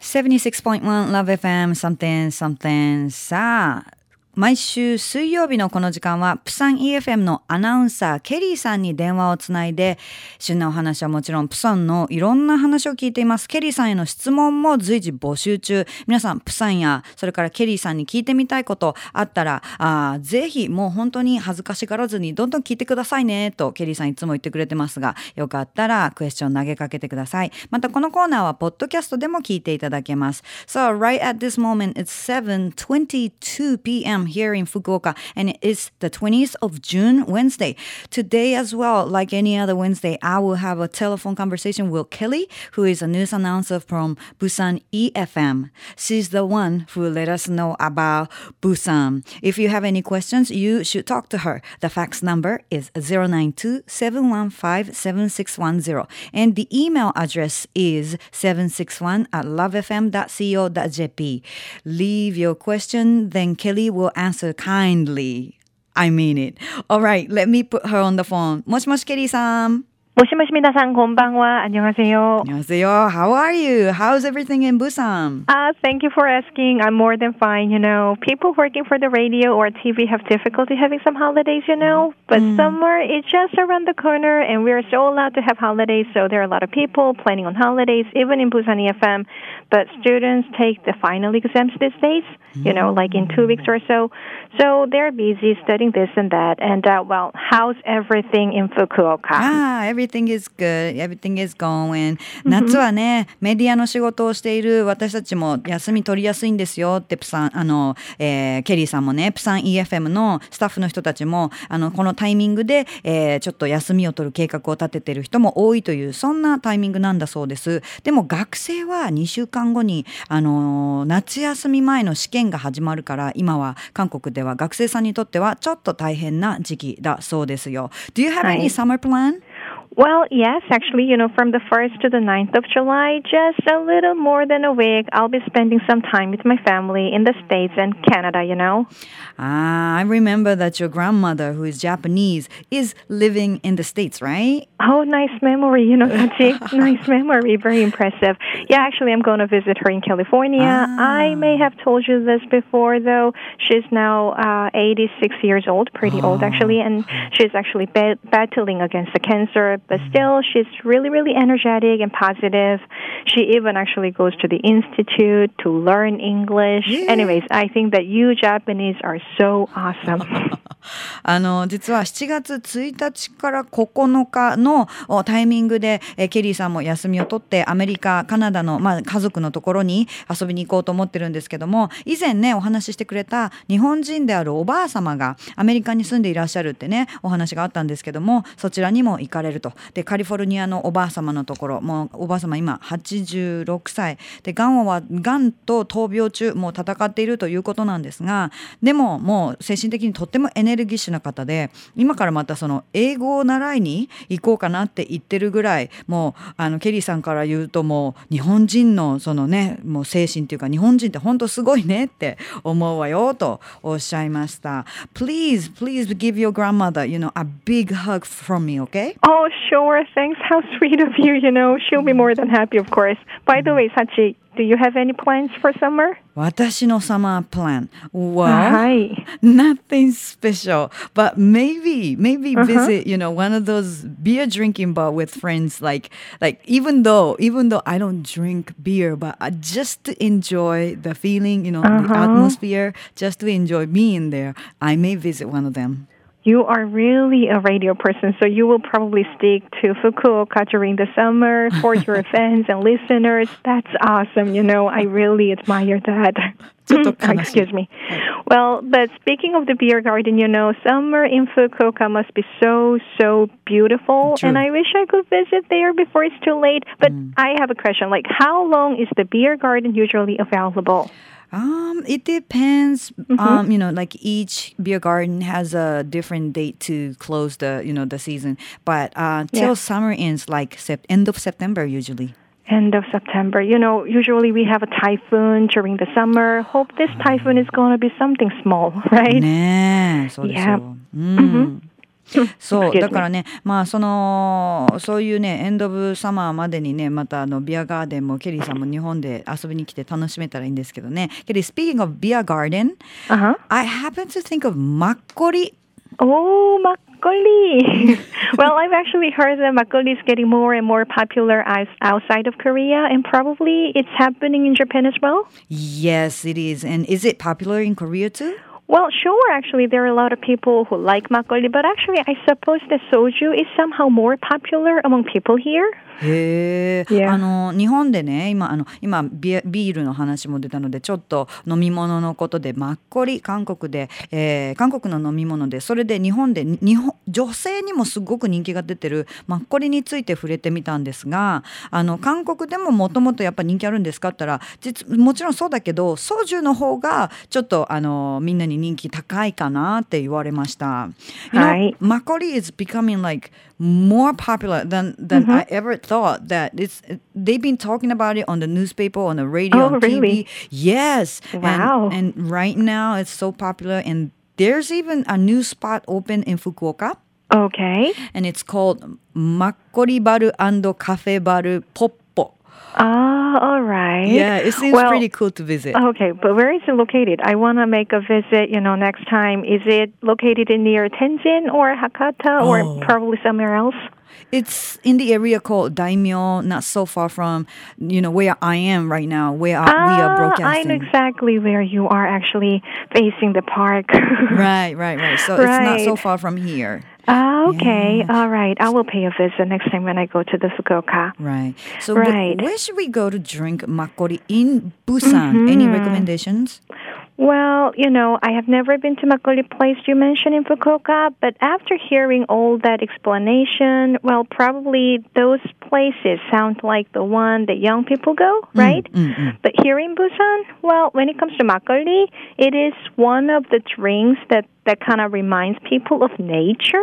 76.1 Love FM something something さあ毎週水曜日のこの時間はプサン EFM のアナウンサーケリーさんに電話をつないで旬なお話はもちろんプサンのいろんな話を聞いています。ケリーさんへの質問も随時募集中。皆さんプサンやそれからケリーさんに聞いてみたいことあったらぜひもう本当に恥ずかしがらずにどんどん聞いてくださいねとケリーさんいつも言ってくれてますがよかったらクエスチョン投げかけてください。またこのコーナーはポッドキャストでも聞いていただけます。So right at this moment it's 7:22 p.m. here in Fukuoka and it is the 20th of June Wednesday. Today as well, like any other Wednesday, I will have a telephone conversation with Kelly, who is a news announcer from Busan EFM. She's the one who let us know about Busan. If you have any questions, you should talk to her. The fax number is 092-715-7610 and the email address is 761@lovefm.co.jp. Leave your question, then Kelly will answer kindly. I mean it. All right, let me put her on the phone. もしもしケリーさん。 もしもし皆さんこんばんは。안녕하세요. 안녕하세요. How are you? How's everything in Busan? Thank you for asking. I'm more than fine, People working for the radio or TV have difficulty having some holidays, But summer is just around the corner and we're so allowed to have holidays. So there are a lot of people planning on holidays, even in Busan EFM. But students take the final exams these days, like in 2 weeks or so. So they're busy studying this and that. And, how's everything in Fukuoka? Everything is good. Everything is going. 夏はね、メディアの仕事をしている私たちも休み取りやすいんですよってケリーさんもね、プサン EFM のスタッフの人たちもこのタイミングで、ちょっと休みを取る計画を立てている人も多いというそんなタイミングなんだそうです。でも学生は2週間後に夏休み前の試験が始まるから今は韓国では学生さんにとってはちょっと大変な時期だそうですよ。Do you have any summer plan? Well, yes, actually, from the 1st to the 9th of July, just a little more than a week, I'll be spending some time with my family in the States and Canada, I remember that your grandmother, who is Japanese, is living in the States, right? Oh, nice memory, Sachi. Nice memory. Very impressive. Yeah, actually, I'm going to visit her in California. I may have told you this before, though. She's now 86 years old, pretty old, actually, and she's actually battling against the cancer. But still, she's really, really energetic and positive. She even actually goes to the institute to learn English. Yeah. Anyways, I think that you Japanese are so awesome. 実は7月1日から9日のタイミングでケリーさんも休みを取ってアメリカ、カナダの、家族のところに遊びに行こうと思ってるんですけども、以前ねお話ししてくれた日本人であるおばあ様がアメリカに住んでいらっしゃるってねお話があったんですけども、そちらにも行かれると。でカリフォルニアのおばあ様のところ、もうおばあ様今86歳でがんと闘病中もう戦っているということなんですが、でももう精神的にとってもエネルギッシュな方で今からまたその英語を習いに行こうかなって言ってるぐらい、もうケリーさんから言うともう日本人のそのねもう精神っていうか日本人って本当すごいねって思うわよとおっしゃいました。 Please give your grandmother a big hug from me, okay? Oh, sure. Thanks. How sweet of you, She'll be more than happy, of course. By the way, Sachi, do you have any plans for summer? 私のサマープラン Well, nothing special, but maybe visit, one of those beer drinking bar with friends. Like even though I don't drink beer, but just to enjoy the feeling, the atmosphere, just to enjoy being there, I may visit one of them. You are really a radio person, so you will probably stick to Fukuoka during the summer for your fans and listeners. That's awesome, I really admire that. Excuse me. Well, but speaking of the beer garden, summer in Fukuoka must be so, so beautiful. True. And I wish I could visit there before it's too late. But I have a question, how long is the beer garden usually available? It depends. Like each beer garden has a different date to close the season. But till summer ends, like end of September usually. End of September. Usually we have a typhoon during the summer. Hope this typhoon is going to be something small, right? ねえ、そうですよ。 そうだからね、まあそういうねエンド・オブ・サマーまでにね、またビアガーデンもケリーさんも日本で遊びに来て楽しめたらいいんですけどね。ケリー、speaking of beer garden, I happen to think of マッコリ。 Oh, makgeolli. Well, I've actually heard that makgeolli is getting more and more popular outside of Korea, and probably it's happening in Japan as well. Yes, it is. And is it popular in Korea too? Well, sure, actually, there are a lot of people who like makgeolli, but actually, I suppose that soju is somehow more popular among people here. へえ、日本でね、今ビールの話も出たので、ちょっと飲み物のことでマッコリ、韓国の飲み物で、それで日本で女性にもすごく人気が出てるマッコリについて触れてみたんですが、韓国でももともとやっぱ人気あるんですかって言ったら、もちろんそうだけどソジュの方がちょっとみんなに人気高いかなって言われました。マッコリ is becoming like more popular than I ever thought. That they've been talking about it on the newspaper, on the radio, on TV. Really? Yes. Wow. And right now it's so popular, and there's even a new spot open in Fukuoka. Okay. And it's called Makkori Baru and Cafe Baru Poppo. All right. Yeah, it seems pretty cool to visit. Okay, but where is it located? I want to make a visit, next time. Is it located in near Tenzin or Hakata or probably somewhere else? It's in the area called Daimyo, not so far from, where I am right now, where we are broadcasting. I know exactly where you are actually facing the park. Right. So it's not so far from here. Okay. Yeah. All right. I will pay a visit next time when I go to the Fukuoka. Right. So where should we go to drink makkori in Busan? Any recommendations? Well, I have never been to makgeolli place you mentioned in Fukuoka, but after hearing all that explanation, well, probably those places sound like the one that young people go, right? But here in Busan, well, when it comes to makgeolli, it is one of the drinks that kind of reminds people of nature.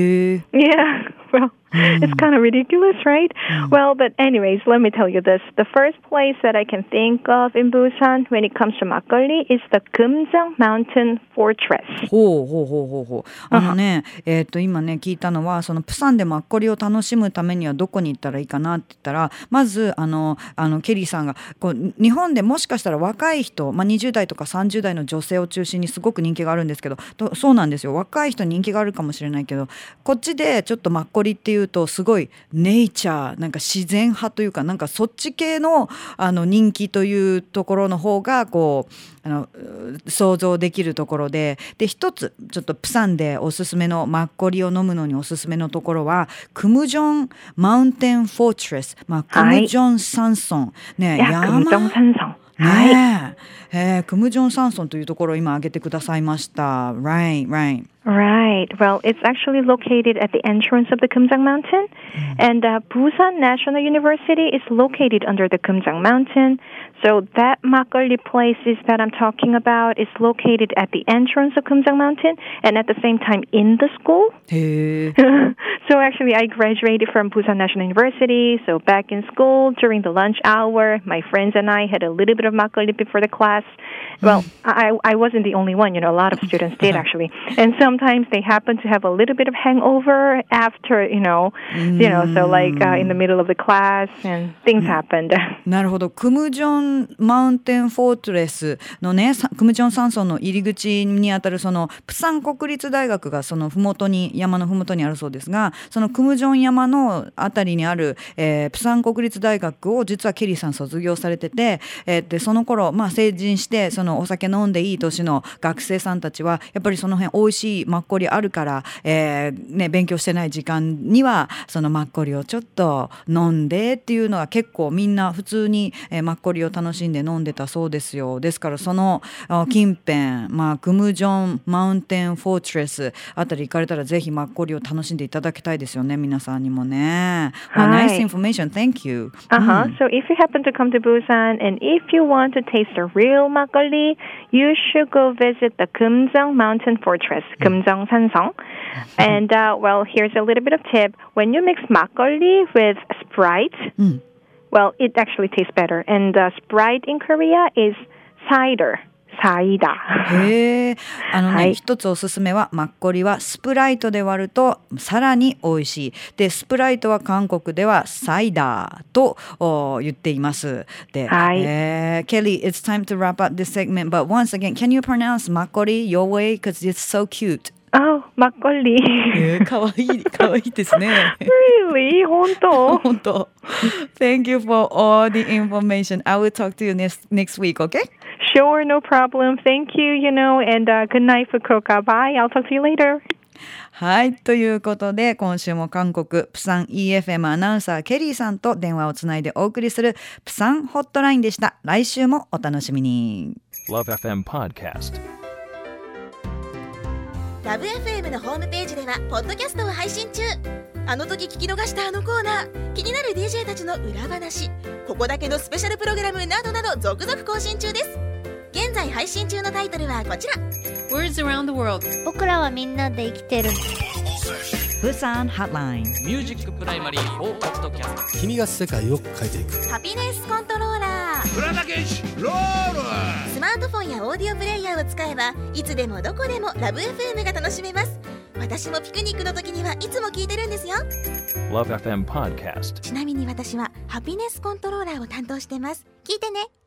Yeah, well, it's kind of ridiculous, right? Well, but anyways, let me tell you this. The first place that I can think of in Busan when it comes to makgeolli is the Kumjang Mountain Fortress. ほう。今ね聞いたのは、そのプサンでマッコリを楽しむためにはどこに行ったらいいかなって言ったら、まずケリーさんが日本でもしかしたら若い人、20代とか30代の女性を中心にすごく人気があるんですけど、そうなんですよ。若い人人気があるかもしれないけど、こっちでちょっとマッコリっていうとすごいネイチャー、なんか自然派というか、なんかそっち系の人気というところの方が想像できるところで、一つちょっとプサンでおすすめのマッコリを飲むのにおすすめのところはクムジョンマウンテンフォートレス、クムジョン山村ね、 クムジョン山村。 クムジョン山村というところを今挙げてくださいました。Right. Well, it's actually located at the entrance of the Kumjang Mountain, and Busan National University is located under the Kumjang Mountain. So that makgeolli place that I'm talking about is located at the entrance of Kumjang Mountain, and at the same time in the school. So actually, I graduated from Busan National University. So back in school during the lunch hour, my friends and I had a little bit of makgeolli before the class. Well, I wasn't the only one. A lot of students did actually, and sometimes they happen to have a little bit of hangover after, so like in the middle of the class, and things happened. なるほど。クムジョンマウンテンフォートレスのね、クムジョン山村の入り口にあたるそのプサン国立大学がその山のふもとにあるそうですが、そのクムジョン山のあたりにある、プサン国立大学を実はケリーさん卒業されてて、でその頃成人してそのお酒飲んでいい年の学生さんたちはやっぱりその辺美味しいマッコリあるから、勉強してない時間にはそのマッコリをちょっと飲んでっていうのは結構みんな普通に、マッコリを楽しんで飲んでたそうですよ。ですからその近辺、クムジョンマウンテンフォートレスあたり行かれたらぜひマッコリを楽しんでいただきたいですよね、皆さんにもね。Nice information, thank you. So if you happen to come to Busan and if you want to taste the real makgeolli, you should go visit the Kumjang Mountain Fortress, Kumjang Sansong. And well, here's a little bit of tip. When you mix makgeolli with Sprite, well, it actually tastes better. And Sprite in Korea is cider. サイダー。 へえ、 はい、 一つおすすめはマッコリはスプライトで割るとさらに美味しい。で、スプライトは韓国ではサイダーと言っています。で、 はい。 Kelly, it's time to wrap up this segment. But once again, can you pronounce マッコリ your way? Because it's so cute. Oh, マッコリ。 かわいい、かわいいですね。 Really? 本当？ 本当。Thank you for all the information. I will talk to you next week, okay? Sure, no problem. Thank you, and good night, Fukuoka. Bye. I'll talk to you later. はい。ということで、今週も韓国、プサン EFM アナウンサー、ケリーさんと電話をつないでお送りする、プサンホットラインでした。来週もお楽しみに。 LoveFM Podcast。 LoveFM のホームページでは、ポッドキャストを配信中。あの時聞き逃したあのコーナー、気になる DJ たちの裏話、ここだけのスペシャルプログラムなどなど続々更新中です。現在配信中のタイトルはこちら。 Words around the world。 僕らはみんなで生きてる。 プサンハットライン。 ミュージックプライマリー4ポッドキャスト。 君が世界を変えていく。 ハピネスコントローラー。 浦田健士ロール。 スマートフォンやオーディオプレイヤーを使えば、いつでもどこでもラブ FM が楽しめます。私もピクニックの時にはいつも聞いてるんですよ。 LoveFM Podcast。 ちなみに私はハピネスコントローラーを担当してます。聞いてね。